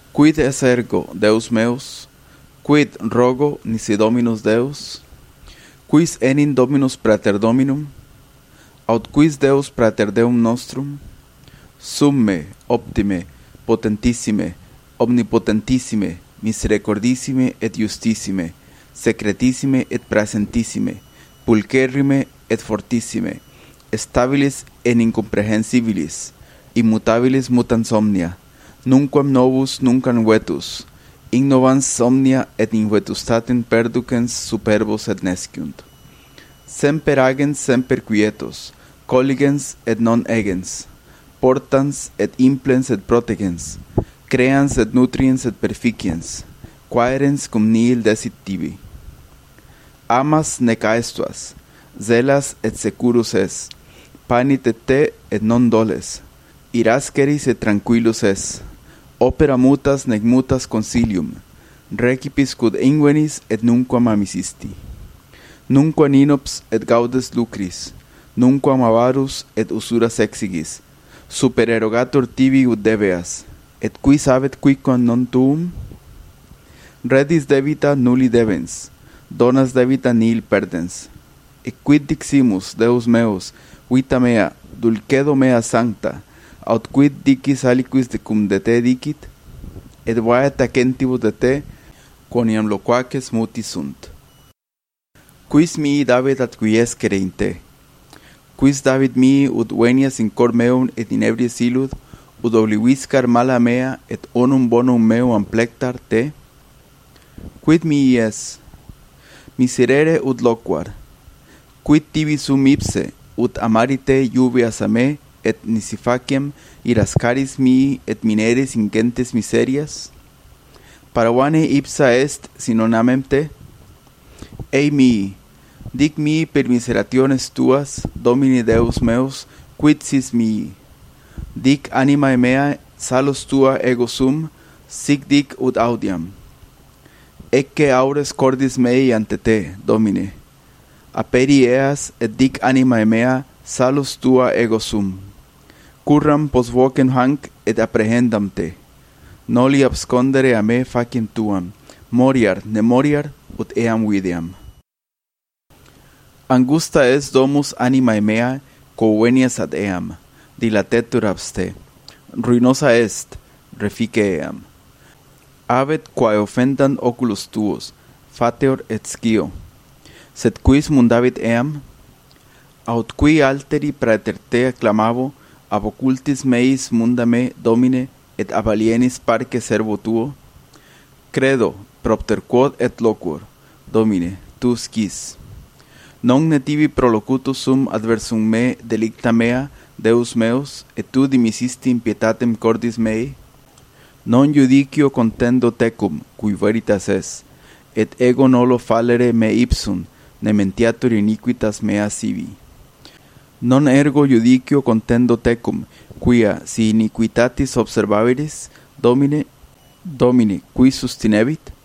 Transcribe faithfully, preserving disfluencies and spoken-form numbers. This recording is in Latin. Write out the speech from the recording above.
Quid es ergo, Deus meus? Quid rogo nisi Dominus Deus? Quis enim Dominus praeter Dominum? Aut quis Deus praeter Deum nostrum? Summe, optime, potentissime, omnipotentissime, misericordissime et justissime, secretissime et praesentissime, pulcherrime et fortissime, stabilis et incomprehensibilis, immutabilis mutans omnia, nunquam novus nunquam vetus, ignovans omnia et invetustatem perducens superbos et nesciunt. Semper agens semper quietos, colligens et non egens, portans et implens et protegens, creans et nutriens et perficiens, quaerens cum nihil desit tibi. Amas nec aestuas, zelas et securus es, panit et te et non doles, irasceris et tranquillus es, opera mutas nec mutas consilium, recipis quod invenis et nunquam amisisti. Nunquam inops et gaudes lucris, nunquam avarus et usuras exigis, supererogator tibi ut debeas, et qui sabet quicquam non tuum? Redis debita nulli debens, donas debita nihil perdens. Et quid diximus, Deus meus, vita mea, dulcedo mea sancta, aut quid dicis aliquis de cum de te dicit? Et vaet acentibus de te, quoniam loquaces muti sunt. Quis mihi David ad quiescere in te? Quis David mihi ut venias in cor meum et in ebries illud, ut obliviscar mala mea et onum bonum meum amplectar te? Quid mihi es? Miserere ut loquar. Quid tibi sum ipse, ut amari te lluvias a me, et nisi faciem irascaris mihi et mineris ingentes miserias? Paravane ipsa est si non amem te? Ei mihi, dic mihi per miserationes tuas, Domini Deus meus, quid sis mihi? Dic animae mea, salus tua ego sum, sic dic ut audiam. Ecce aures cordis mei ante te, Domine. Aperi eas et dic animae mea, salus tua ego sum. Curram pos vocem hanc et apprehendam te. Noli abscondere a me faciem tuam, moriar, ne moriar, ut eam videam. Angusta es domus animae mea, quo venias ad eam, dilatetur abs te. Ruinosa est, refice eam. Avet quae offendant oculos tuos, fateor et scio. Sed quis mundavit eam? Aut qui alteri praeter te acclamavo, ab occultis meis munda me, Domine, et ab alienis parce servo tuo? Credo, propter quod et loquor, Domine, tu scis. Non ne tibi prolocutus sum adversum me delicta mea, Deus meus, et tu dimisisti impietatem cordis mei? Non judicio contendo tecum, cui veritas es, et ego nolo fallere me ipsum, ne mentiatur iniquitas mea sibi. Non ergo judicio contendo tecum, quia si iniquitatis observaveris, Domine, Domine, qui sustinebit?